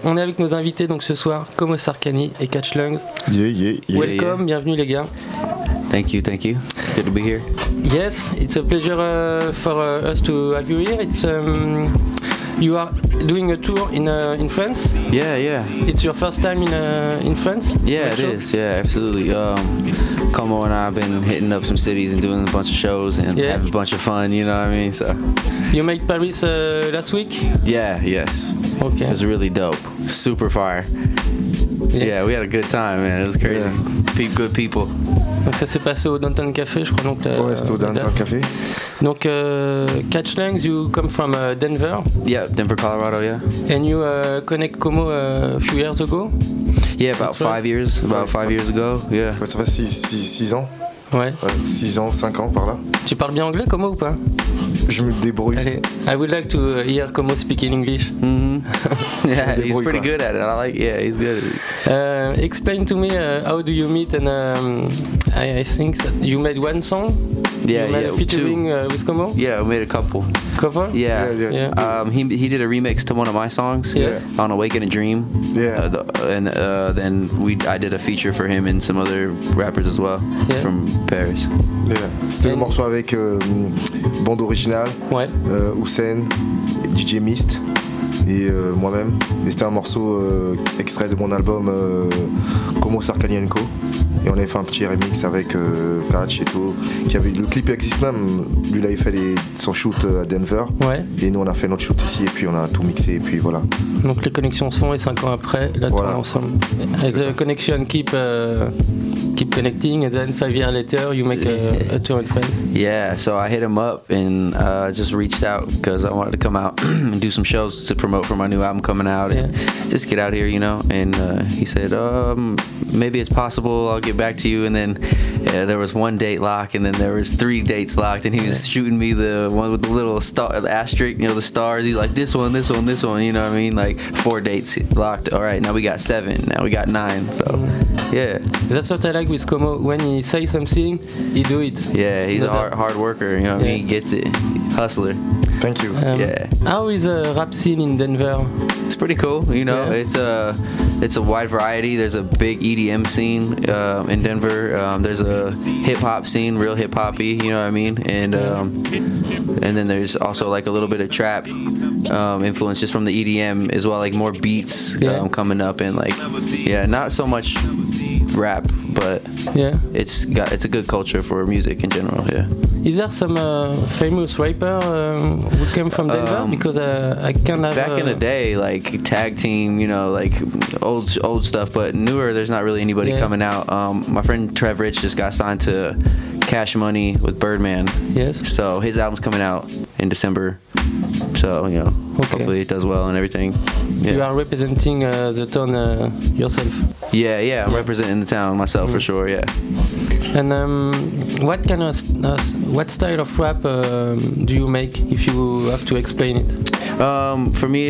on est avec nos invités donc ce soir, Como Sarkany et Catch Lungs. Welcome, bienvenue les gars. Thank you. Good to be here. Yes, it's a pleasure for us to have you here. It's you are doing a tour in France. Yeah. It's your first time in France. Yeah, it is. Yeah, absolutely. Como and I have been hitting up some cities and doing a bunch of shows and having a bunch of fun. You know what I mean? So. You made Paris last week. Yes. Okay. It was really dope. Super fire. Yeah, we had a good time, man. It was crazy. Yeah. Good people. Donc ça s'est passé au Downtown Café, je crois. Donc, ouais, c'était au Downtown Café. Donc, Catch Lungs, you come from Denver. Yeah, Denver, Colorado, yeah. And you connect Como a few years ago? Yeah, about 5 years. About 5 years ago, yeah. Ouais, ça fait 6 ans. Ouais. 6 ans, 5 ans par là. Tu parles bien anglais, Como, ou pas? Je me débrouille. Allez, I would like to hear Como speak in English. Mm-hmm. Yeah, he's pretty good at it. He's good at it. Explain to me how do you meet, and I think that you made one song. Yeah, you made a featuring with Como. Yeah, we made a couple. Cover? Yeah. He did a remix to one of my songs. Yeah. On Awaken a Dream. Yeah. And then I did a feature for him and some other rappers as well from Paris. Yeah. C'était le morceau avec bande originale. Ouais. Hussein, DJ Mist et moi-même. Et c'était un morceau extrait de mon album Como Sarkany & Co. Et on avait fait un petit remix avec Catch et tout. Le clip existe même. Lui, il avait fait son shoot à Denver. Ouais. Et nous, on a fait notre shoot ici. Et puis, on a tout mixé. Et puis, voilà. Donc, les connexions se font. Et 5 ans après, là, voilà. on est ensemble. And the connection keep connecting. And then 5 years later, you make a tour in France. Yeah, so I hit him up and just reached out because I wanted to come out and do some shows to promote for my new album coming out and just get out here, you know. And he said, maybe it's possible, I'll get back to you. And then there was one date lock, and then there was 3 dates locked, and he was shooting me the one with the little star, the asterisk, you know, the stars. He's like, this one, you know what I mean? Like 4 dates locked. All right, now we got 7, now we got 9. So yeah, that's what I like with Como. When he says something, he do it. Yeah, he's a hard worker, you know what I mean? He gets it. Hustler. Thank you. How is the rap scene in Denver? It's pretty cool, you know. It's a wide variety. There's a big EDM scene in Denver. There's a hip hop scene, real hip hoppy, you know what I mean. And then there's also like a little bit of trap influence just from the EDM as well, like more beats coming up, and like not so much rap, but it's a good culture for music in general. Yeah. Is there some famous rapper who came from Denver? Because I can't have... Back in the day, like Tag Team, you know, like old stuff, but newer, there's not really anybody coming out. My friend Trev Rich just got signed to Cash Money with Birdman. Yes. So his album's coming out in December. So, you know, hopefully it does well and everything. Yeah. You are representing the town yourself? Yeah, I'm representing the town myself for sure, yeah. And what style of rap do you make, if you have to explain it? For me,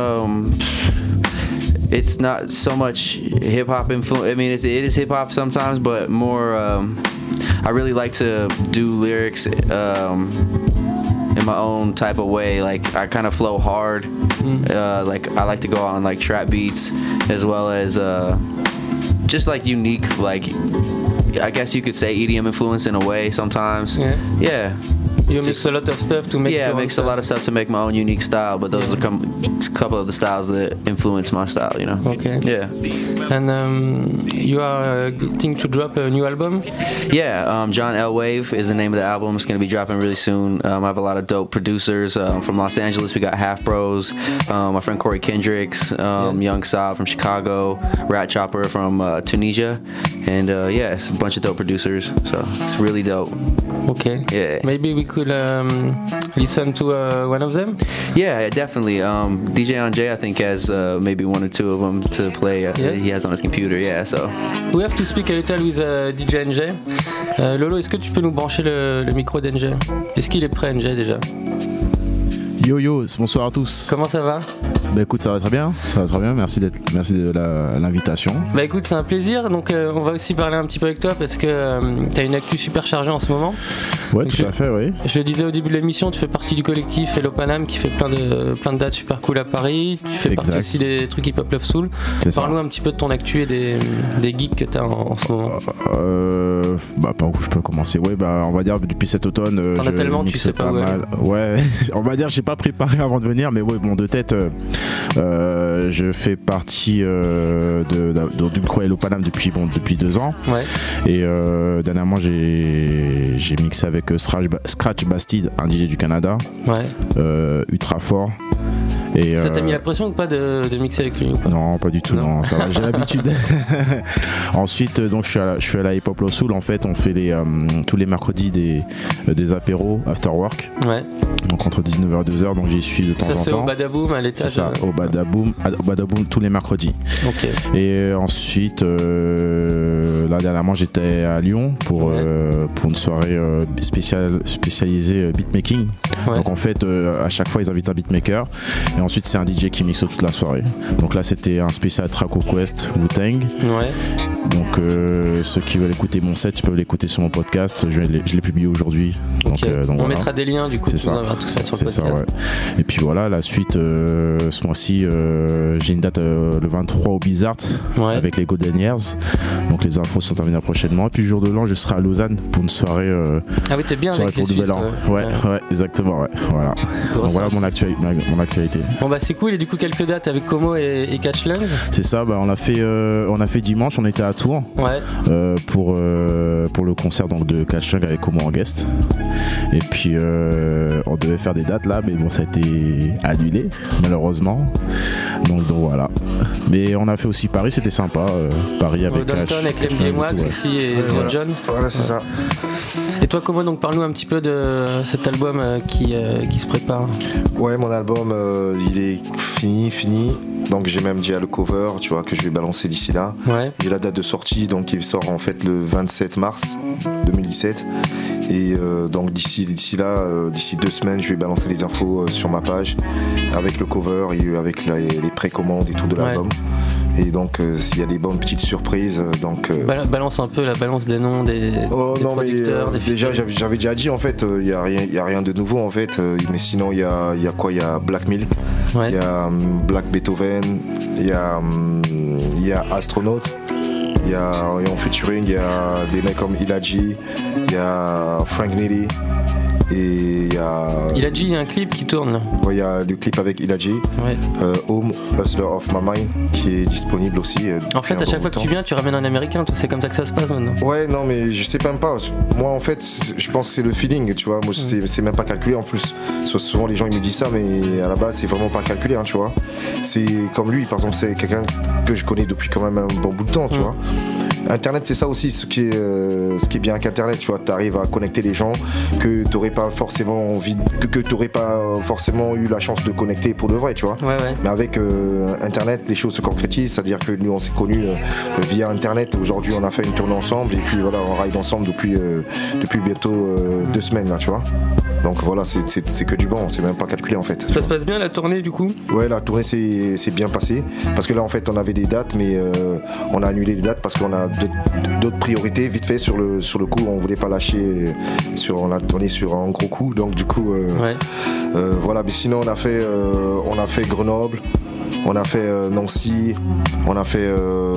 it's not so much hip hop influence. I mean, it is hip hop sometimes, but more. I really like to do lyrics in my own type of way. Like I kind of flow hard. Like I like to go on like trap beats as well as just like unique, like I guess you could say EDM influence in a way sometimes. Yeah. You mix a lot of stuff to make. Yeah, I mix a lot of stuff to make my own unique style, but those are a couple of the styles that influence my style, you know. Okay. Yeah. And you are getting to drop a new album? Yeah, John L. Wave is the name of the album. It's going to be dropping really soon. I have a lot of dope producers from Los Angeles. We got Half Bros, my friend Corey Kendricks, Young Saab from Chicago, Rat Chopper from Tunisia, and it's a bunch of dope producers. So it's really dope. Okay. Yeah. Maybe we could listen to one of them? Yeah, definitely. DJ Anjay, I think, has maybe 1 or 2 of them to play. He has on his computer, so. We have to speak a little with DJ NJ. Lolo, est-ce que tu peux nous brancher le micro d'NJ? Est-ce qu'il est prêt, NJ, déjà? Yo yo, bonsoir à tous. Comment ça va? Bah écoute, ça va très bien, merci de l'invitation. Bah écoute, c'est un plaisir, donc on va aussi parler un petit peu avec toi parce que t'as une actu super chargée en ce moment. Ouais, donc tout à fait, oui. Je le disais au début de l'émission, tu fais partie du collectif Hello Paname qui fait plein de dates super cool à Paris. Tu fais partie aussi des trucs Hip Hop Love Soul. Parle-nous un petit peu de ton actu et des gigs que t'as en ce moment. Bah par où je peux commencer? Ouais, bah on va dire depuis cet automne. T'en as tellement, tu sais pas mal. Ouais, on va dire j'ai pas préparé avant de venir, mais ouais, bon, de tête, je fais partie du crew Hello Paname depuis 2 ans. Ouais. Et dernièrement j'ai mixé avec Scratch Bastide, un DJ du Canada. Ouais. Ultra fort. Et ça t'a mis la pression ou pas de mixer avec lui ou pas? Non, pas du tout, non, ça va, j'ai l'habitude. Ensuite, donc je suis à la Hip Hop Love Soul. En fait, on fait tous les mercredis des apéros after work. Ouais. Donc entre 19h et 2h, donc j'y suis de temps en temps. Ça c'est au Badaboom à l'étage. C'est ça, au Badaboom tous les mercredis. Ok. Et ensuite, là dernièrement, j'étais à Lyon pour une soirée spécialisée beatmaking. Ouais. Donc en fait, à chaque fois, ils invitent un beatmaker. Et ensuite, c'est un DJ qui mixe toute la soirée. Donc là, c'était un spécial Traco Quest Wu-Tang. Ouais. Donc ceux qui veulent écouter mon set, ils peuvent l'écouter sur mon podcast. Je l'ai publié aujourd'hui. Okay. Donc, on voilà. Mettra des liens du coup. C'est ça. Tout ça sur le podcast. Ça, ouais. Et puis voilà, la suite, ce mois-ci, j'ai une date le 23 au Bizarre avec les Golden Years. Donc les infos sont à venir prochainement. Et puis le jour de l'an, je serai à Lausanne pour une soirée. Ah oui, t'es bien avec les Suisses. Ouais, exactement. Ouais. Voilà. Donc voilà mon actualité. Bon bah c'est cool. Et du coup quelques dates avec Como et Catchland. C'est ça. Bah on a fait dimanche. On était à Tours. Ouais. Pour le concert donc de Catchland avec Como en guest. Et puis on devait faire des dates là, mais bon ça a été annulé malheureusement. Donc voilà. Mais on a fait aussi Paris, c'était sympa. Paris avec Downtown avec l'MDM Wax aussi et The John. Voilà, c'est ça. Et toi, Como, donc parle-nous un petit peu de cet album qui se prépare. Ouais, mon album il est fini. Donc j'ai même dit à le cover, tu vois, que je vais balancer d'ici là. Ouais. J'ai la date de sortie, donc il sort en fait le 27 mars 2017. Et donc d'ici là, d'ici 2 semaines, je vais balancer les infos sur ma page avec le cover et avec les précommandes et tout de l'album. Et donc s'il y a des bonnes petites surprises, donc balance un peu la balance des noms des producteurs. Mais déjà j'avais déjà dit en fait, il y a rien de nouveau en fait. Mais sinon il y a quoi? Il y a Black Milk, il y a Black Beethoven, il y a Astronaut. Il y a en featuring, il y a des mecs comme Ilaji, il y a Frank Nitty et il y a... Ilaji, il y a un clip qui tourne là. Ouais, il y a le clip avec Ilaji, Home, Hustler of My Mind, qui est disponible aussi. En fait, à chaque fois que tu viens, tu ramènes un américain, c'est comme ça que ça se passe maintenant. Ouais, non, mais je sais même pas. Moi, en fait, je pense que c'est le feeling, tu vois. Moi, c'est même pas calculé en plus. Souvent, les gens ils me disent ça, mais à la base, c'est vraiment pas calculé, hein, tu vois. C'est comme lui, par exemple, c'est quelqu'un que je connais depuis quand même un bon bout de temps, tu vois. Internet, c'est ça aussi, ce qui est bien avec Internet, tu vois, t'arrives à connecter les gens que t'aurais pas forcément que t'aurais pas forcément eu la chance de connecter pour de vrai, tu vois. Ouais. Mais avec Internet, les choses se concrétisent, c'est-à-dire que nous on s'est connus via Internet. Aujourd'hui, on a fait une tournée ensemble et puis voilà, on ride ensemble depuis bientôt 2 semaines là, tu vois. Donc voilà, c'est que du bon, c'est même pas calculé en fait. Ça se passe bien la tournée du coup? Ouais, la tournée c'est bien passé parce que là en fait on avait des dates, mais on a annulé les dates parce qu'on a d'autres priorités vite fait sur le coup. On voulait pas lâcher on a tourné sur un gros coup, donc du coup voilà. Mais sinon on a fait Grenoble, on a fait Nancy, on a fait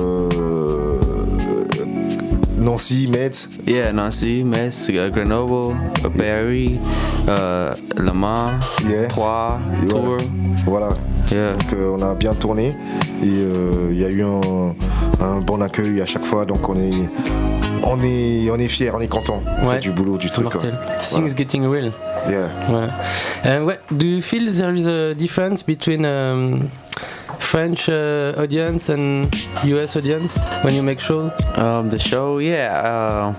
Nancy, Metz. Yeah, Nancy, Metz, Grenoble, Paris, Le Mans, Troyes, Tours. Voilà. Yeah. Donc on a bien tourné et il y a eu un bon accueil à chaque fois, donc on est fiers, on est content du boulot, du truc. Things getting real. Yeah. Do you feel there is a difference between French audience and US audience when you make shows? The show, yeah.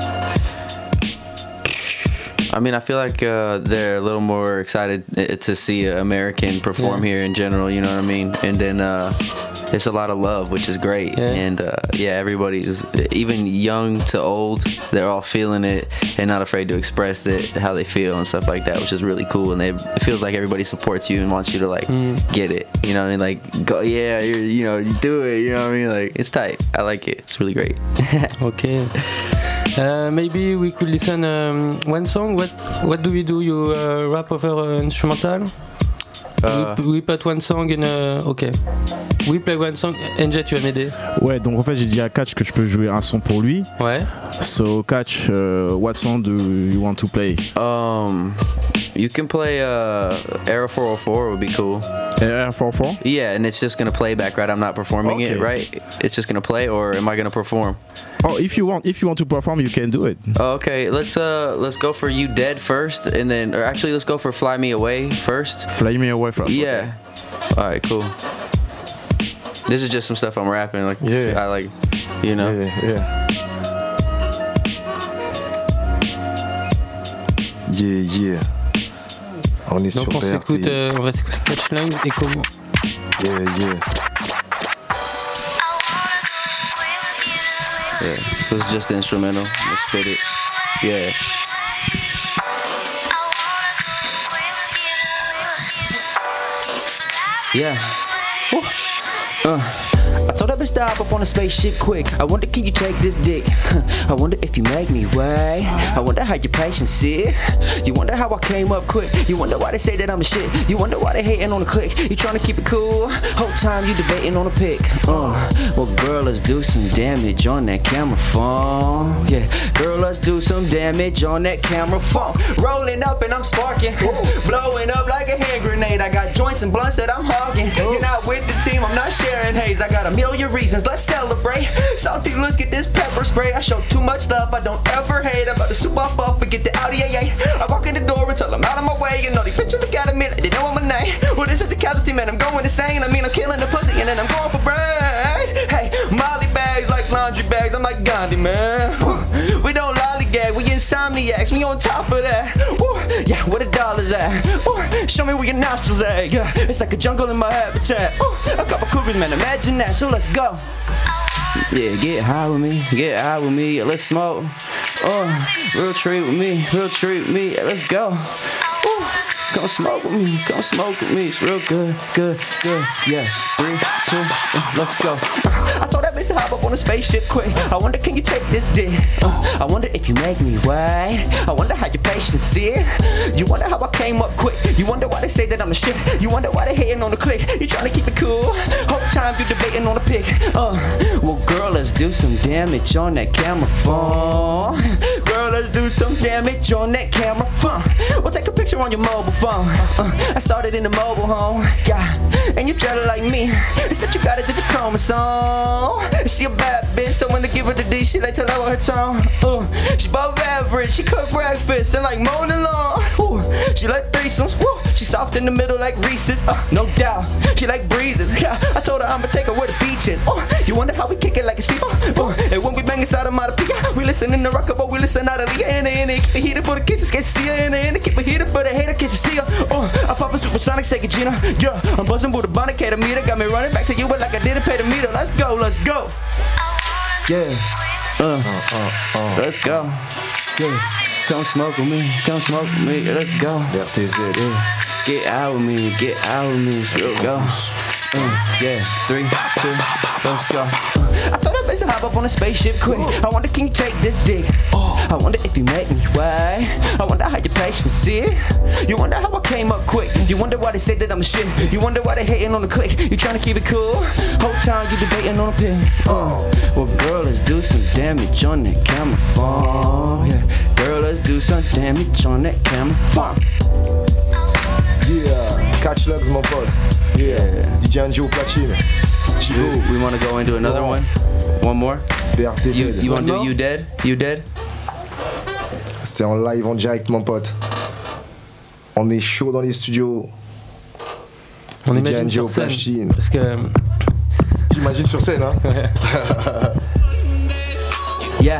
I mean, I feel like they're a little more excited to see an American perform here in general, you know what I mean? And then it's a lot of love, which is great. And everybody's, even young to old, they're all feeling it and not afraid to express it, how they feel and stuff like that, which is really cool. And it feels like everybody supports you and wants you to like get it, you know what I mean? Like, go, yeah, you do it, you know what I mean? Like, it's tight. I like it. It's really great. Okay. Maybe we could listen one song. What do we do? You rap over instrumental? We put one song in ok. We play one song. NJ, tu vas m'aider. Ouais, donc en fait j'ai dit à Catch que je peux jouer un son pour lui. Ouais. So Catch, what song do you want to play? You can play Era 404 would be cool. Era 404? Yeah, and it's just gonna play back, right? I'm not performing it, right? It's just gonna play, or am I gonna perform? Oh, if you want to perform, you can do it. Oh, okay, let's go for You Dead first, and then, or actually, let's go for Fly Me Away first. Fly Me Away first. Yeah. Okay. All right, cool. This is just some stuff I'm rapping, like I like, you know. Yeah. On est donc sur on s'écoute, on va s'écouter Catch Lang et comment. Yeah. Yeah, so it's just instrumental. Let's spit it. Yeah. Yeah. I told that bitch to hop up on a spaceship quick. I wonder, can you take this dick? I wonder if you make me wait. I wonder how your patience is. You wonder how I came up quick. You wonder why they say that I'm a shit. You wonder why they hating on the click. You trying to keep it cool. Whole time you debating on a pic. Well, girl, let's do some damage on that camera phone. Yeah, girl, let's do some damage on that camera phone. Rolling up and I'm sparking. Blowing up like a hand grenade. I got joints and blunts that I'm hogging. You're not with the team, I'm not sharing haze. I got a million reasons, let's celebrate. Salty, let's get this pepper spray. I show too much love, I don't ever hate. I'm about to soup up and get the Audi AA. I walk in the door and tell them out of my way. You know, they picture look at me, they know I'm a name. Well, this is a casualty, man, I'm going insane. I mean, I'm killing the pussy and then I'm going for brains. Hey, Molly bags like laundry bags, I'm like Gandhi, man. We don't lollygag, we insomniacs, we on top of that. Yeah, where the dollars at? Show me where your nostrils at. Yeah, it's like a jungle in my habitat. A couple cougars, man, imagine that, so let's go. Yeah, get high with me, let's smoke. Real treat with me, yeah, let's go. Come smoke with me, it's real good, yeah. 3, 2, let's go. I told that bitch to hop up on a spaceship quick. I wonder, can you take this dick? I wonder if you make me wait. I wonder how your patience is. You wonder how I came up quick. You wonder why they say that I'm the shit. You wonder why they hating on the click. You trying to keep it cool. Whole time you debating on the pic. Well, girl, let's do some damage on that camera phone. Girl, let's do some damage on that camera phone. We'll take a picture on your mobile phone. I started in the mobile home, yeah. And you try to like me. Except you got a different chromosome. She a bad bitch, so when they give her the D, she like to lower her tone. She above average, she cook breakfast and like mowing lawn. She like threesomes, she soft in the middle like Reese's, no doubt. She like breezes, yeah. I told her I'ma take her where the beach is. You wonder how we kick it like it's FIFA. And when we bang inside of Matapia, we listen in the rocker, but we listen out of the and keep it heated for the kisses, can't see her, and keep it heated for the hater, can't you see her? I'm popping supersonic, say Gina, yeah. I'm buzzing with a bonnet, meter, got me running back to you, but like I didn't pay the meter. Let's go. Yeah. Let's go. Yeah. Come smoke with me, let's go. RTZ. Yeah. Get out with me, it's real go. Yeah, 3, 2, let's go. I thought I best to hop up on a spaceship quick. I wonder, can you take this dick? I wonder if you make me wait. I wonder how your patience is. You wonder how I came up quick. You wonder why they say that I'm a shit. You wonder why they hating on the click. You trying to keep it cool. Whole time you debating on a pin. Well, girl, let's do some damage on that camera phone. Yeah, girl, let's do some damage on that camera phone. Yeah, Catch Lugs, mon pote. Yeah. DJ Angio Platine. Chibo. We want to go into another one? One more? BRTZ. You want to do You Dead? You Dead? C'est en live, en direct, mon pote. On est chaud dans les studios. On DJ imagine Angio sur scène. Platine. Parce que... T'imagines sur scène, hein? Yeah.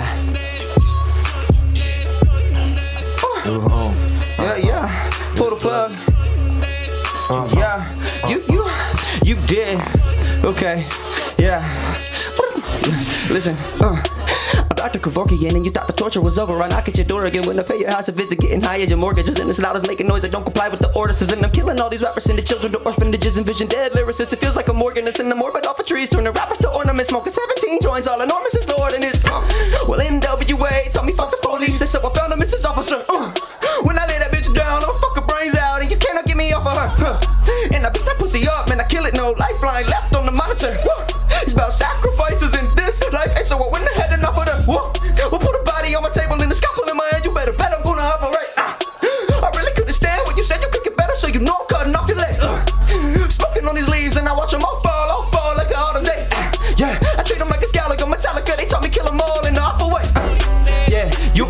Yeah. Pull the plug. Yeah. You did. Okay, yeah. Listen, I'm Dr. Kevorkian, and you thought the torture was over. I knock at your door again when I pay your house a visit, getting high as your mortgages, and it's loud as making noise that don't comply with the orders. And I'm killing all these rappers, sending children to orphanages, and vision dead lyricists. It feels like I'm organist in the morbid off of trees, turning rappers to ornaments, smoking 17 joints, all enormous is the ordinance. Well, NWA told me fuck the police, so I found a Mrs. Officer. When I lay that bitch down, I'ma fuck her brains out, and you cannot get me off of her. And I beat that pussy up, man, I kill it, no lifeline left on the monitor. It's about sacrifices in this life, and so I went ahead and offered her. We'll put a body on my table and a scalpel in my hand. You better bet I'm gonna operate. I really couldn't stand what you said. You could get better, so you know I'm cutting off your leg. Smoking on these leaves and I watch them all fall like an autumn day. Yeah, I treat them like a Gallagher, Metallica. They taught me kill them all in the awful way. Yeah, you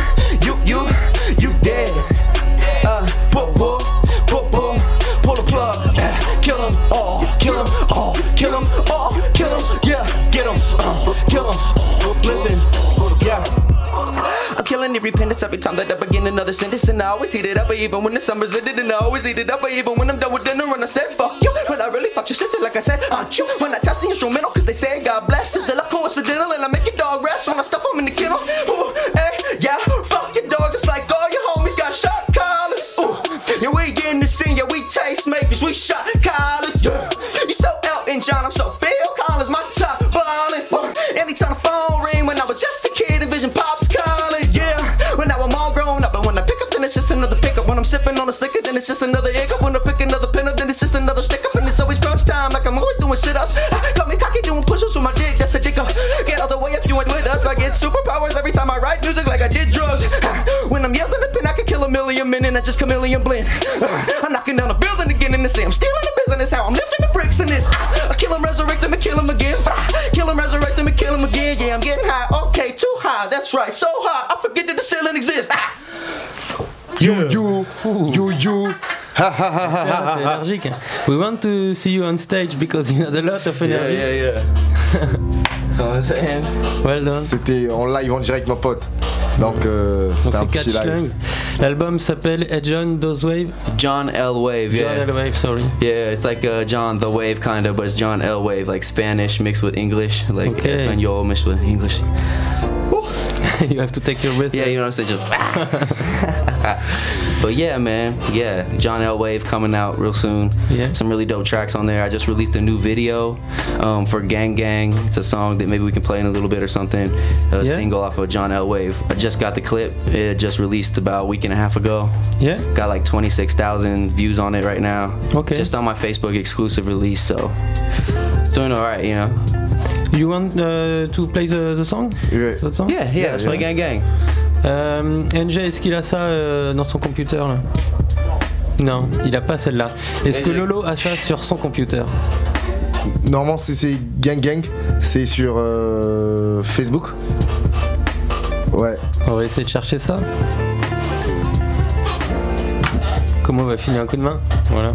dead. Pull the plug. Kill them all, kill them all, kill them all, kill them. Yeah, get them, kill them. Listen, yeah. I'm killing every repentance every time that I begin another sentence, and I always heat it up, even when the summer's ended, and I always heat it up, even when I'm done with dinner, and I said fuck you, but I really fucked your sister like I said, aren't you? When I touch the instrumental, cause they say God bless, is the luck coincidental, and I make your dog rest when I stuff them in the kennel. Ooh, hey, yeah, fuck your dog just like all your homies got shot collars. Ooh, yeah, we in the scene, yeah, we taste makers, we shot collars, yeah. You so Elton John, I'm so Phil Collins, my top ballin'. Anytime the phone ring, when I was just a kid, and Vision Pops calling, yeah. When now I'm all grown up, and when I pick up, then it's just another pickup. When I'm sipping on a slicker, then it's just another hiccup. When I pick another pin up, then it's just another stick up. And it's always crunch time, like I'm always doing sit-ups. Got me cocky doing push-ups with my dick, that's a dick up. Get out the way if you ain't with us. I get superpowers every time I write music like I did drugs. When I'm yelling a pin, I can kill a million men, and I just chameleon blend. I'm knocking down a building again, and I'm stealing the business. How I'm lifting the bricks in this. I kill him, resurrect him, and kill him again. Kill him, resurrect him, and kill him again. Yeah, I'm getting high, okay, too high, that's right, so high, I forget that the ceiling exists. You, ha ha ha ha ha. C'est énergique. We want to see you on stage because you had a lot of energy. Yeah. Well done. C'était en live en direct, mon pote. Donc c'était un petit live. L'album s'appelle John Doe's Wave. John L. Wave, yeah. John L. Wave, sorry. Yeah, it's like John the Wave kind of, but it's John L. Wave, like Spanish mixed with English, like Espanol mixed with English. You have to take your breath. Yeah, you know what I'm saying? Just but yeah, man. Yeah, John L. Wave coming out real soon. Yeah. Some really dope tracks on there. I just released a new video for Gang Gang. It's a song that maybe we can play in a little bit or something. Single off of John L. Wave. I just got the clip. It just released about a week and a half ago. Yeah. Got like 26,000 views on it right now. Okay. Just on my Facebook exclusive release, so it's doing alright, you know. You want to play the song? Yeah. That song? Yeah, let's play Gang Gang. NJ, est-ce qu'il a ça dans son computer là? Non, il a pas celle-là. Est-ce que Lolo a ça sur son computer? Normalement c'est Gang Gang, c'est sur Facebook. Ouais. On va essayer de chercher ça. Comment on va filer un coup de main? Voilà.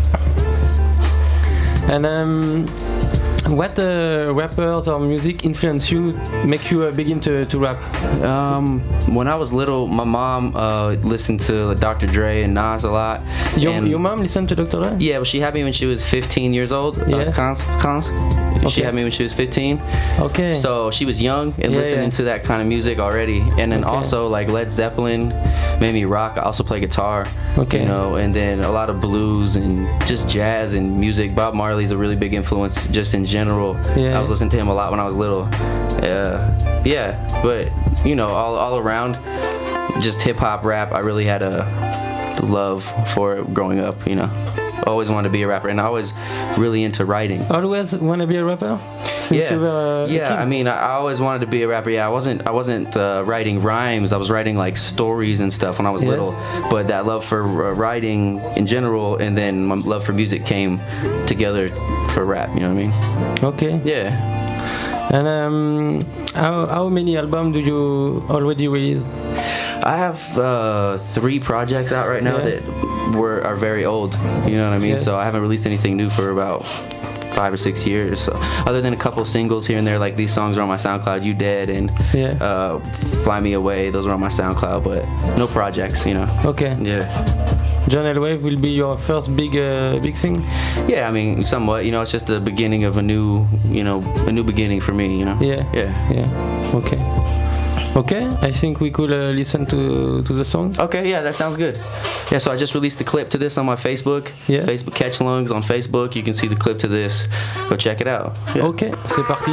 And what rappers or music influence you, make you begin to rap? When I was little, my mom listened to Dr. Dre and Nas a lot. Your mom listened to Dr. Dre? Yeah, well, she had me when she was 15 years old. Yeah. She had me when she was 15. Okay. So she was young and listening to that kind of music already. And then also like Led Zeppelin made me rock. I also play guitar. Okay. You know, and then a lot of blues and just jazz and music. Bob Marley's a really big influence just in general. Yeah. I was listening to him a lot when I was little. Yeah, but you know, all around, just hip hop, rap. I really had a love for it growing up. You know, always wanted to be a rapper, and I was really into writing. Always want to be a rapper? Since you were a kid? I mean, I always wanted to be a rapper. Yeah, I wasn't writing rhymes. I was writing like stories and stuff when I was little. But that love for writing in general, and then my love for music came together for rap. You know what I mean? Okay. Yeah. And how many albums do you already release? I have 3 projects out right now that are very old. You know what I mean? Yeah. So I haven't released anything new for about 5 or 6 years. So, other than a couple singles here and there, like these songs are on my SoundCloud, You Dead and Fly Me Away, those are on my SoundCloud, but no projects, you know. Okay. Yeah. John Elway will be your first big thing? Yeah, I mean, somewhat, you know, it's just the beginning of a new beginning for me, you know. Yeah. Okay, I think we could listen to the song. Okay, yeah, that sounds good. Yeah, so I just released the clip to this on my Facebook. Yeah. Facebook Catch Lungs on Facebook. You can see the clip to this. Go check it out. Yeah. Ok, c'est parti.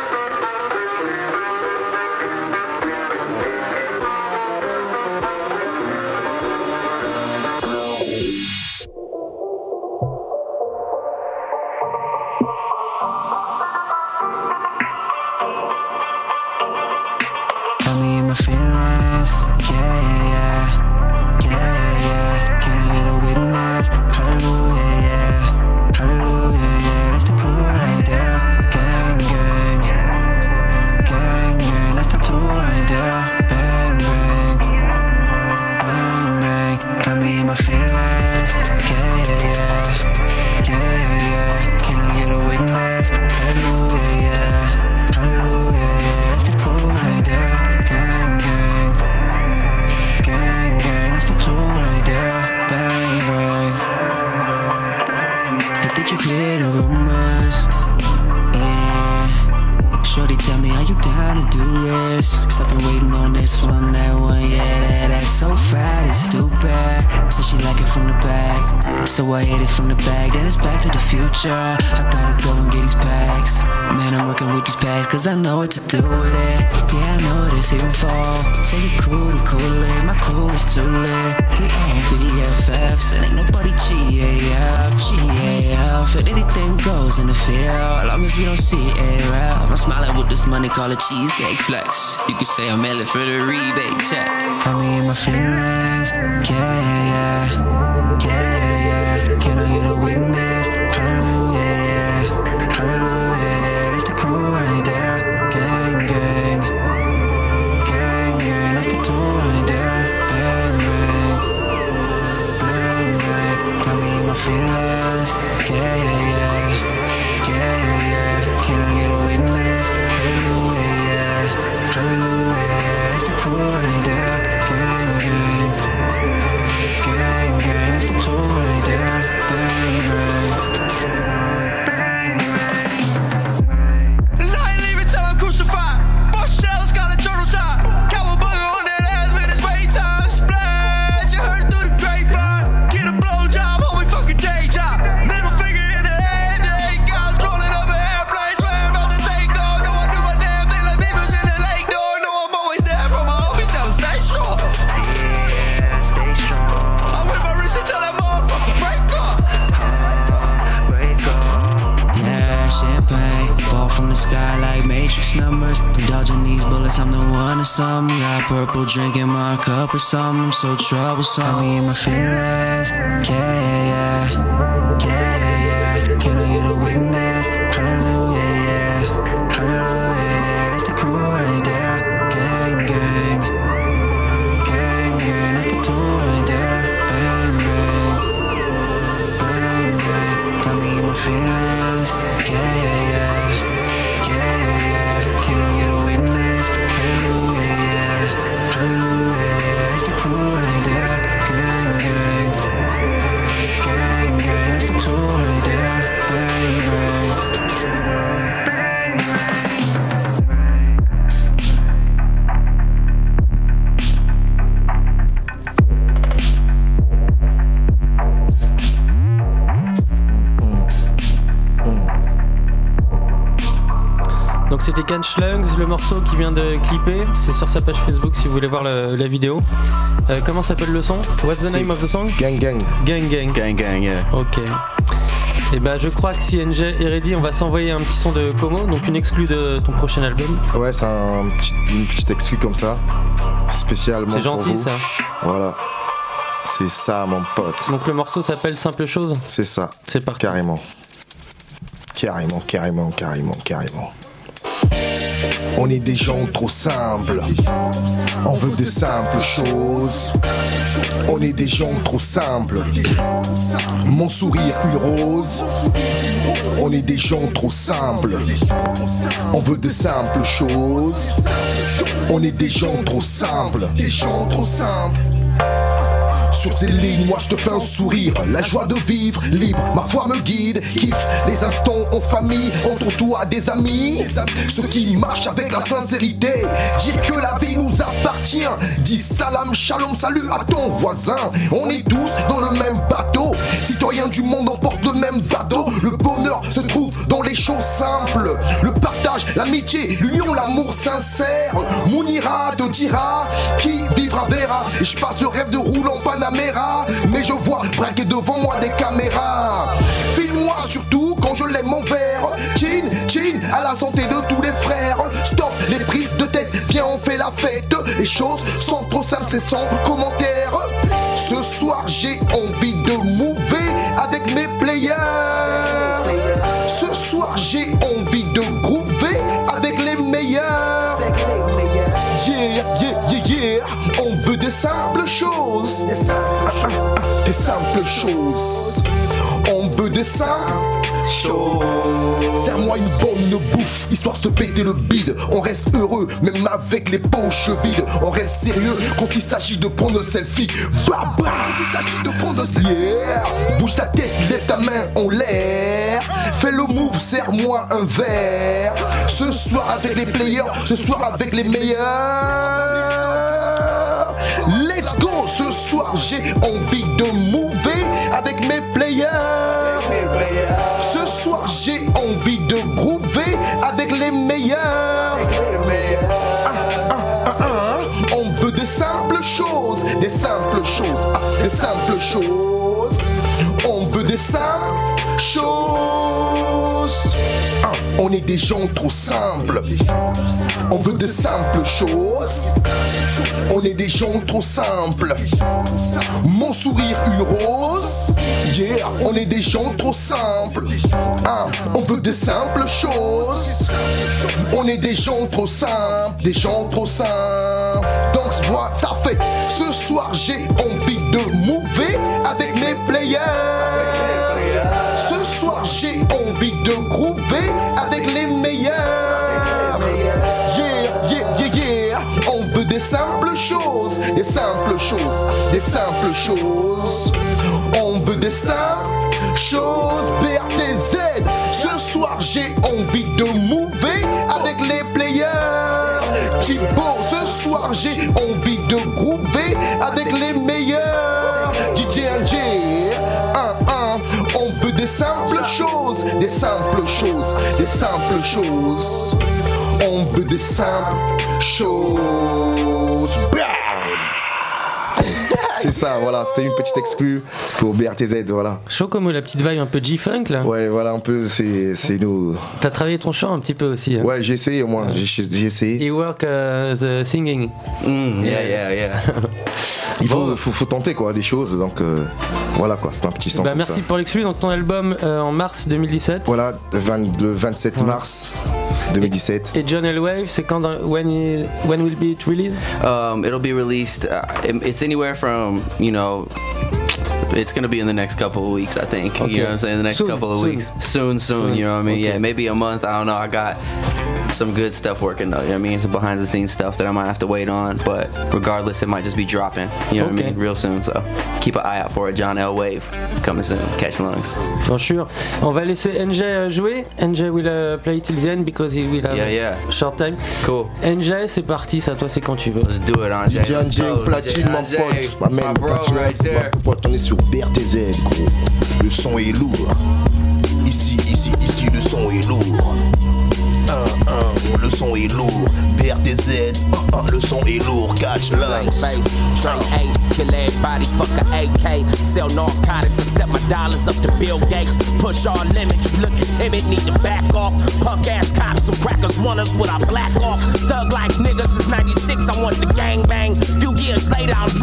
Cause I know what to do with it. Yeah, I know this even fall. Take your crew to cool it. My crew is too lit. We all BFFs and ain't nobody GAF. And anything goes in the field, as long as we don't see it out. I'm smiling with this money, call it cheesecake flex. You could say I'm mailing for the rebate check. Got me in my feelings. Yeah. Can I get a witness? Hallelujah. That's the crew right there. Gang, that's the tour right there. Bang, got me in my feelings. Yeah. Can I get a witness? Hallelujah, that's the crew right there. Gang, that's the tour right there. Bang. Numbers, I'm dodging these bullets, I'm the one or something. Got purple drink in my cup or something, I'm so troublesome. Got me in my feelings, yeah. Can I get a witness? Hallelujah, that's the crew right there. Gang, that's the tour right there. Bang, got me in my feelings, yeah. Can I get a witness? Hallelujah, that's the crew right there. Gang, that's the tour right there. Bang. Donc c'était Catch Lungs, le morceau qui vient de clipper, c'est sur sa page Facebook si vous voulez voir la vidéo. Comment s'appelle le son? What's the name of the song? Gang. Gang, yeah. Ok. Et ben je crois que si NJ est ready, on va s'envoyer un petit son de Como, donc une exclue de ton prochain album. Ouais, c'est une petite exclue comme ça, spécialement pour vous. C'est gentil ça. Voilà. C'est ça mon pote. Donc le morceau s'appelle Simple Chose. C'est ça. C'est parti. Carrément. On est des gens trop simples. On veut de simples choses. On est des gens trop simples. Mon sourire une rose. On est des gens trop simples. On veut de simples choses. On est des gens trop simples. Des gens trop simples. Sur ces lignes, moi je te fais un sourire. La joie de vivre, libre, ma foi me guide. Kiffe les instants en famille, entre toi des amis. Ceux qui marchent avec la sincérité. Dire que la vie nous appartient. Dis salam, shalom, salut à ton voisin. On est tous dans le même bateau. Citoyens du monde, on porte le même bateau. Le bonheur se trouve dans les choses simples. Le partage, l'amitié, l'union, l'amour sincère. Mounira te dira qui vivra verra. Et je passe le rêve de roulant Panamera. Mais je vois braquer devant moi des caméras. Filme-moi surtout quand je lève mon verre. Chin, chin, à la santé de tous les frères. Stop les prises de tête, viens on fait la fête. Les choses sont trop simples, c'est sans commentaire. Ce soir j'ai envie de mouver avec mes players. Ce soir j'ai envie de groover avec les meilleurs. Yeah, yeah, yeah, yeah. On veut des simples choses. Des simples choses. On veut des simples choses. Serre-moi une bonne bouffe, histoire de se péter le bide. On reste heureux, même avec les poches vides. On reste sérieux quand il s'agit de prendre selfie. Bah bah, quand il s'agit de prendre selfie. Yeah. Bouge ta tête, lève ta main en l'air. Fais le move, serre-moi un verre. Ce soir avec les players, ce soir avec les meilleurs. Let's go, ce soir j'ai envie de mouver avec mes players. Ce soir j'ai envie de groover avec les meilleurs. On veut des simples choses, des simples choses, des simples choses. On veut des simples choses. On est des gens trop simples. On veut de simples choses. On est des gens trop simples. Mon sourire une rose. Yeah, on est des gens trop simples. On veut de simples choses. On est des gens trop simples. Des gens trop simples. Donc voilà, ça fait. Ce soir j'ai envie de mouver avec mes players. Ce soir j'ai envie de groover avec les meilleurs. Yeah, yeah, yeah, yeah. On veut des simples choses. Des simples choses. Des simples choses. On veut des simples choses. BRTZ. Ce soir j'ai envie de mouver avec les players. Thibaut, ce soir j'ai envie de groover avec les meilleurs. DJ NJ. On veut des simples choses, des simples choses, des simples choses. On veut des simples choses. C'est ça, voilà, c'était une petite exclue pour BRTZ, voilà. Chaud comme la petite vibe un peu G-Funk là. Ouais, voilà, un peu, c'est nous. T'as travaillé ton chant un petit peu aussi. Hein. Ouais, j'ai essayé au moins, j'ai essayé. You work the singing. Yeah. Il faut tenter quoi, des choses, donc voilà quoi, c'est un petit son. Bah, merci pour l'exclu, donc ton album en mars 2017. Voilà, le 27 mars 2017. Et John L. Wave, c'est quand when will be it released? It'll be released. It's anywhere from, it's gonna be in the next couple of weeks, I think. Okay. You know what I'm saying? The next couple of weeks. Soon. You know what I mean? Okay. Yeah, maybe a month. I don't know. I got some good stuff working though. You know what I mean? Some behind the scenes stuff that I might have to wait on. But regardless, it might just be dropping. You know what I mean? Real soon. So keep an eye out for it. John L. Wave coming soon. Catch lungs. For sure. On va laisser NJ jouer. NJ will play till the end because he will have a short time. Cool. NJ, c'est parti. Ça, toi, c'est quand tu veux. Let's do it, NJ. DJ NJ, platine, mon pote. Ma man, platine, mon pote. On est sur BRTZ, gros. Le son est lourd. Ici, le son est lourd. Le son est lourd. BRTZ, le son est lourd. Catch lungs. Train 8, kill everybody, fuck a AK. Sell narcotics and step my dollars up to Bill Gates. Push all limits, you looking timid, need to back off. Punk ass cops and crackers want us with our black off. Thug like niggas is 96, I want the gang bang. Few years later, I'm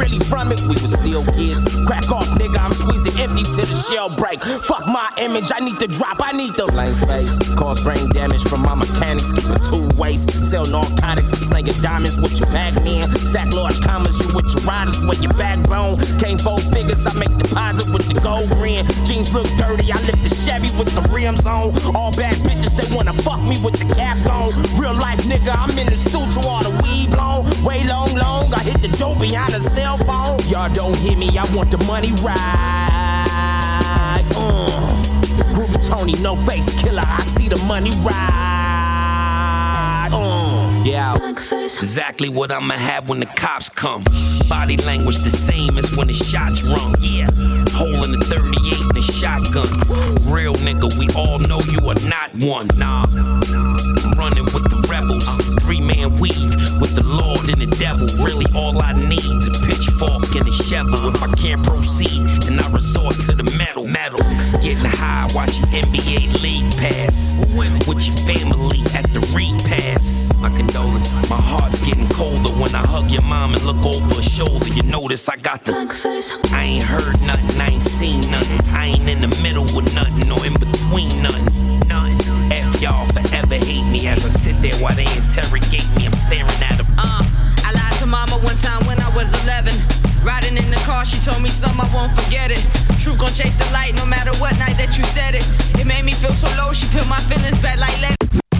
really from it, we was still kids. Crack off, nigga, I'm squeezing empty till the shell break. Fuck my image, I need to drop, I need the blank face. Cause brain damage from my mechanics, skipping 2 waste. Sell narcotics, I'm slinging diamonds with your bag man. Stack large commas, you with your riders, with your backbone. Came 4 figures, I make deposit with the gold grin. Jeans look dirty, I lift the Chevy with the rims on. All bad bitches, they wanna fuck me with the cap on. Real life nigga, I'm in the stew to all the weed blown. Way long, I hit the dope behind a cell phone. Y'all don't hear me, I want the money right. Groovy Tony, no face killer, I see the money right. Yeah, exactly what I'ma have when the cops come. Body language the same as when the shots rung. Yeah, hole in the 38 and the shotgun. Real nigga, we all know you are not one. Nah, I'm running with the rebels. 3-man weave with the Lord and the devil. Really all I need is a pitchfork and a shovel. If I can't proceed, then I resort to the metal. Getting high, watching NBA League Pass. With your family at the repass. My condolences. My heart's getting colder when I hug your mom and look over her shoulder. You notice I got the I ain't heard nothing, I ain't seen nothing. I ain't in the middle with nothing or in between nothing. F y'all forever hate me as I sit there while they interrogate me. I'm staring at them. I lied to mama one time when I was 11. Riding in the car, she told me something, I won't forget it. True gon' chase the light no matter what night that you said it. It made me feel so low, she put my feelings back like let it.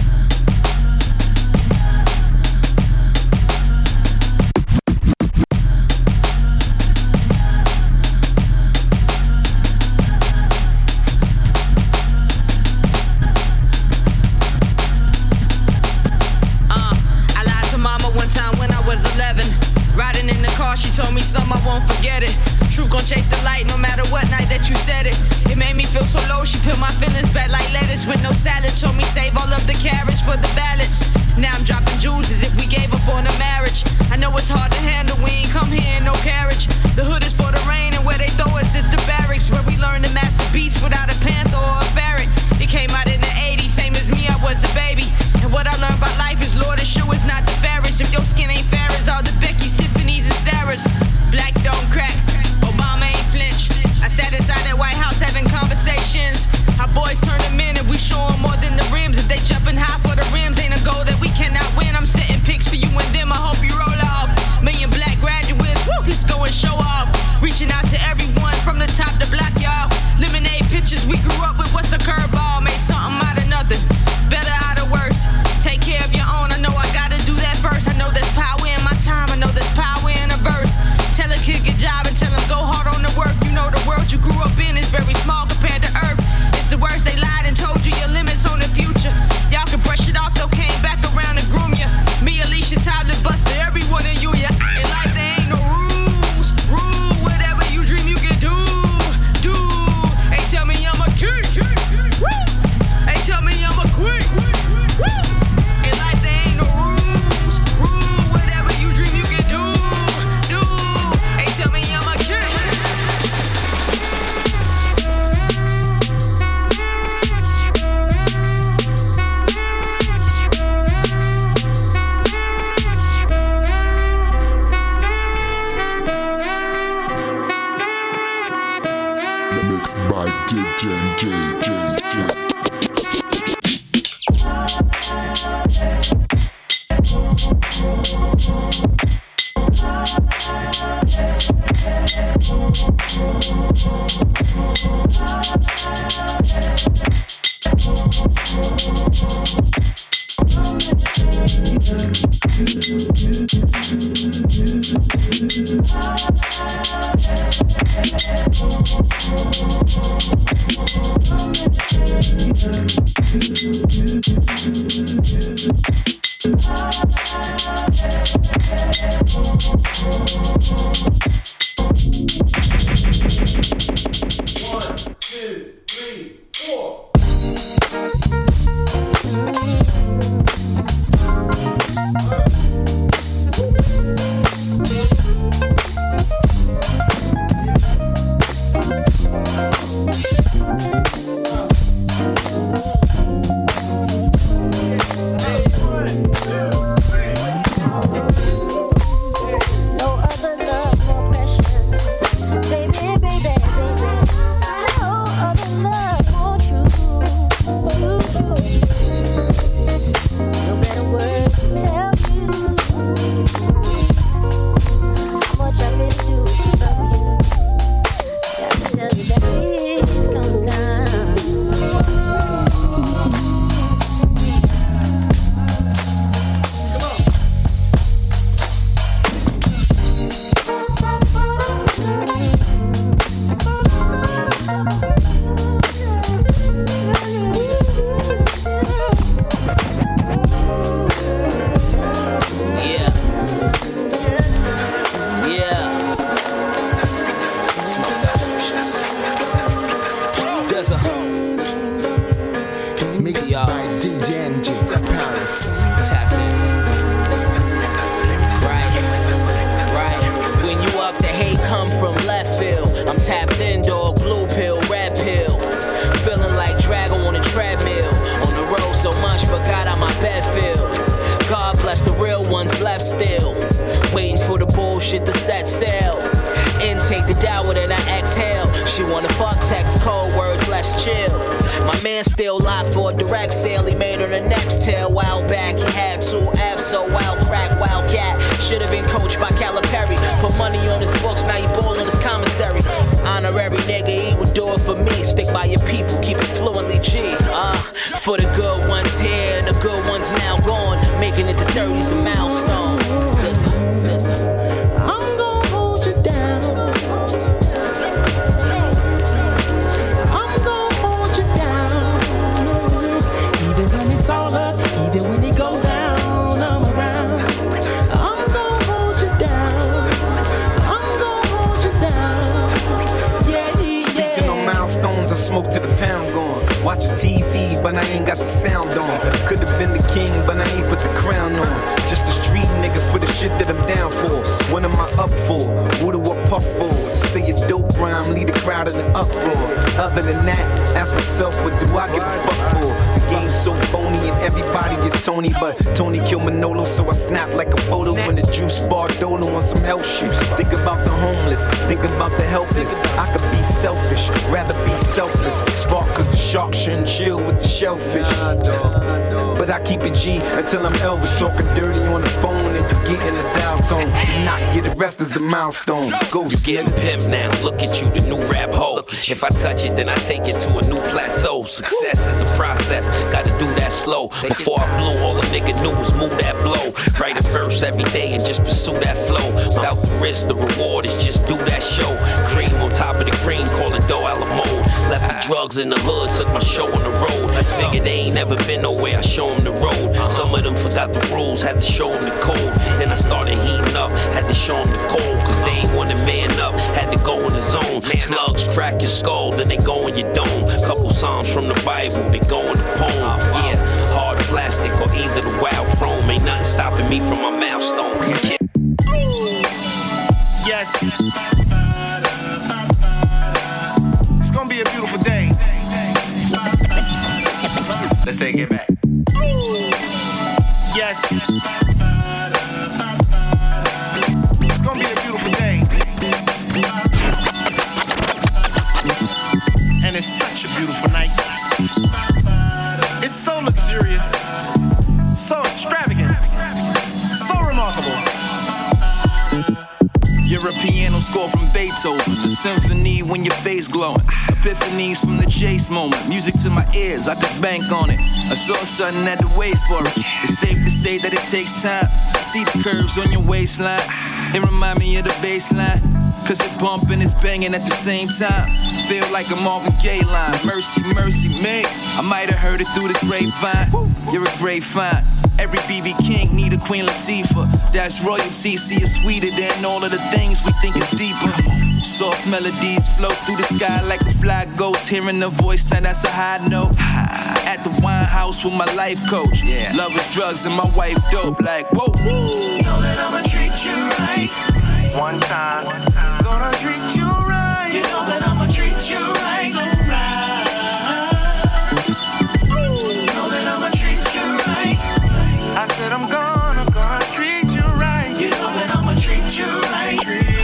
She told me something, I won't forget it. True gon' chase the light no matter what night that you said it. It made me feel so low, she put my feelings back like lettuce with no salad. Told me save all of the carrots for the ballots. Now I'm dropping jewels as if we gave up on a marriage. I know it's hard to handle, we ain't come here in no carriage. The hood is for the rain and where they throw us is the barracks. Where we learn to master beast without a panther or a ferret. It came out in the 80s, same as me, I was a baby. And what I learned about life is Lord and shoe is not the fairest. If your skin ain't fair as all the Becky's, Tiffany's and Sarah's. Black don't crack, Obama ain't flinch. I sat inside that White House having conversations. Our boys turn them in and we show them more than the rims. If they jumping high for the rims, ain't a goal that we cannot win. I'm setting pics for you and them, I hope you roll off. Million black graduates, woo, let's go and show off. Reaching out to everyone from the top to block, y'all. Lemonade pictures we grew up with, what's a curveball? Made something out of nothing, better out of worse. Take care of your own, I know I gotta do that first. I know there's power in my time, I know there's power in a verse. Tell a kid good job and tell him go hard on the work. You know the world you grew up in is very small compared to Earth. It's the worst, they lied and told you your limits on the future. Y'all can brush it off, though came back around and groom ya. Me, Alicia, Tyler, Buster, everyone in you, yeah. In life there ain't no rules. Rule whatever you dream you can do. Hey, tell me I'm a king. Woo. Hey, tell me I'm a queen. Woo. In life there ain't no rules. Rule whatever you dream you can do. Tell me I'm a king. Mixed by DJ Just chill. My man still locked for a direct sale he made on the next tail. While back he had 2 F's, so wild crack, wildcat. Should've been coached by Calipari. Put money on his books, now he ballin' his commissary. Honorary nigga, he would do it for me. Stick by your people, keep it fluently G. For the good ones here and the good ones now gone. Making it to 30's a milestone. Listen. I'm gon' hold you down. I'm gon' hold you down. Even when it's all up, even when it goes down, I'm around. I'm gon' hold you down. I'm gon' hold you down. Yeah. Speaking on milestones, I smoke to the pound gone. Watching TV, but I ain't got the sound on. Could've been the king, but I ain't put the crown on. Just a street nigga for the shit that I'm down for. What am I up for? What do I puff for? Say a dope rhyme, lead the crowd in an uproar. Other than that, ask myself, what do I give a fuck for? The game's so phony and everybody is Tony, but Tony killed Manolo, so I snap like a photo in the juice bar Dolo on some health shoes. Think about the homeless, think about the helpless. I could be selfish, rather be selfless. Spark cause the shark shouldn't chill with the shellfish. But I keep it G until I'm Elvis, talking dirty on the phone and you get in the dial tone. Do not get arrested as a milestone. Ghost. You getting pimp now, look at you, the new rap hoe. If I touch it, then I take it to a new plateau. Success is a process, gotta do that slow. Before I blew, all a nigga knew was move that blow. Write a verse every day and just pursue that flow. Without the risk, the reward is just do that show. Cream on top of the cream, call it dough a la mode. Left the drugs in the hood, took my show on the road. Figured they ain't never been nowhere, I show them the road. Some of them forgot the rules, had to show them the code. Then I started heating up, had to show them the cold. Cause they ain't want to man up, had to go in the zone. Slugs crack your skull, then they go in your dome. Couple psalms from the Bible, they go in the poem. Yeah, hard plastic or either the wild chrome. Ain't nothing stopping me from my milestone. Yeah. Yes. It's gonna be a beautiful day. Let's take it back. Yes. It's gonna be a beautiful day. And it's such a beautiful night. It's so luxurious, so extravagant, so remarkable. You're a piano score from Beethoven, a symphony when your face glowing, epiphanies from the chase moment, music to my ears, I could bank on it. I saw something, had to wait for it. It's safe to say that it takes time. I see the curves on your waistline, it remind me of the baseline, cause it bumping, it's banging at the same time. Feel like a Marvin Gaye line, mercy, mercy me. I might have heard it through the grapevine. You're a great find. Every BB King need a Queen Latifah. That's royalty, see it's sweeter than all of the things we think is deeper. Soft melodies float through the sky like a fly ghost. Hearing the voice, now that's a high note. At the wine house with my life coach. Love is drugs and my wife dope. Like, whoa. Know that I'ma treat you right. One time. Gonna treat you right. You know that I'ma treat you right. So right. Know that I'ma treat you right. I said I'm gonna treat you right. You know that I'ma treat you right.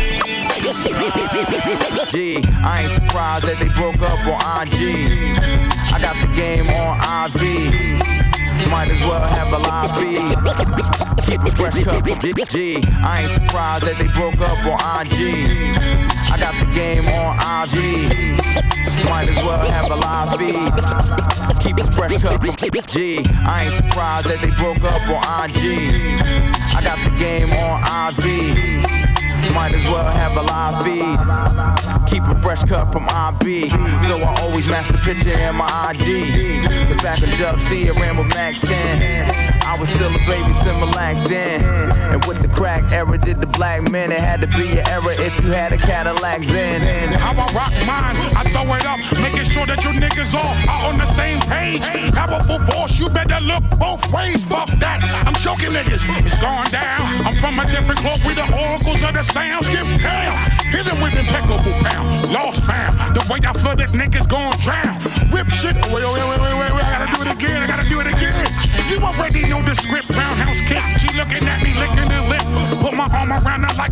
G, I ain't surprised that they broke up on IG. I got the game on IV. Might as well have a live feed. Keep a fresh cup of G. I ain't surprised that they broke up on IG. I got the game on IV. Might as well have a live feed. Keep a fresh cup of G. I ain't surprised that they broke up on IG. I got the game on IV. Might as well have a live feed. Keep a fresh cut from IB. So I always match the picture in my ID. Cause back in Dub C, I ran with Mac 10. I was still a baby Similac then. And with the crack era, did the black men. It had to be an era if you had a Cadillac then. How I rock mine, I throw it up, making sure that you niggas all are on the same page. Powerful force, you better look both ways. Fuck that, I'm choking niggas, it's going down. I'm from a different cloth, we the oracles of the sound. Skip down, hit him with impeccable pound. Lost found, the way I flooded niggas gon' drown. Whip shit, wait, I gotta do it again. You already know the script, roundhouse kick. She looking at me, licking her lip. Put my arm around her like a bowl of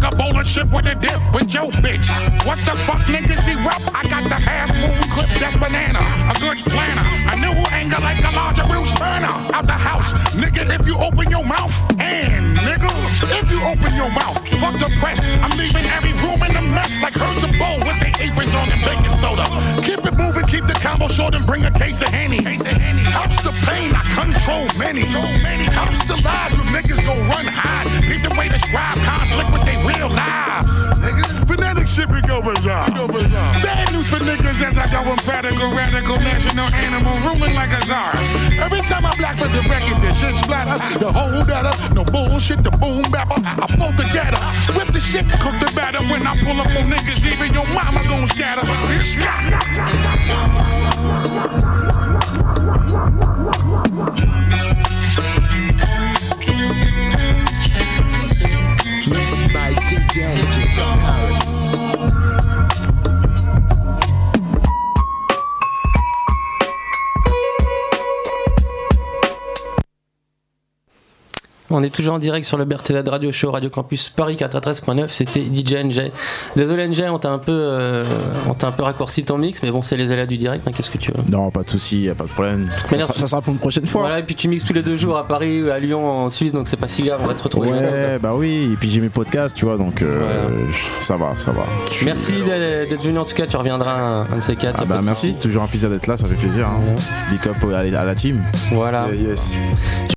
chip with a dip with your bitch. What the fuck niggas he rap? I got the half moon clip, that's banana. A good planner, a new anger like a larger Bruce Banner. Out the house, nigga, if you open your mouth. And nigga, if you open your mouth, fuck the press. I'm leaving every room in a mess like herds of bowl with their aprons on and baking soda. Keep it moving, keep the combo short and bring a case of Henny. Helps the pain, I control many. Helps the lives when niggas go run hide. Keep the way describe conflict with their real lives. Phonetic shit we go bizarre. Bad news for niggas as I go emphatical, radical, national animal, ruling like a czar. Every time I black for the record, this shit splatter. The whole data, no bullshit, the boom bapper. I pull together, whip the shit, cook the batter. When I pull up on niggas, even your mama gon' scatter. It's Mixed by DJ from Paris. On est toujours en direct sur le BRTZ Radio Show Radio Campus Paris 93.9. C'était DJ NJ. Désolé NJ, on t'a un peu raccourci ton mix, mais bon, c'est les aléas du direct. Hein, qu'est-ce que tu veux? Non, pas de souci, y a pas de problème. Ça sera pour une prochaine fois. Voilà, et puis tu mixes tous les 2 jours à Paris, à Lyon, en Suisse, donc c'est pas si grave. On va te retrouver. Ouais, bah oui. Et puis j'ai mes podcasts, tu vois, donc ça va. Merci d'être venu. En tout cas, tu reviendras un de ces 4. Ah bah merci, toujours un plaisir d'être là, ça fait plaisir. Hein. Big up à la team. Voilà. Yes.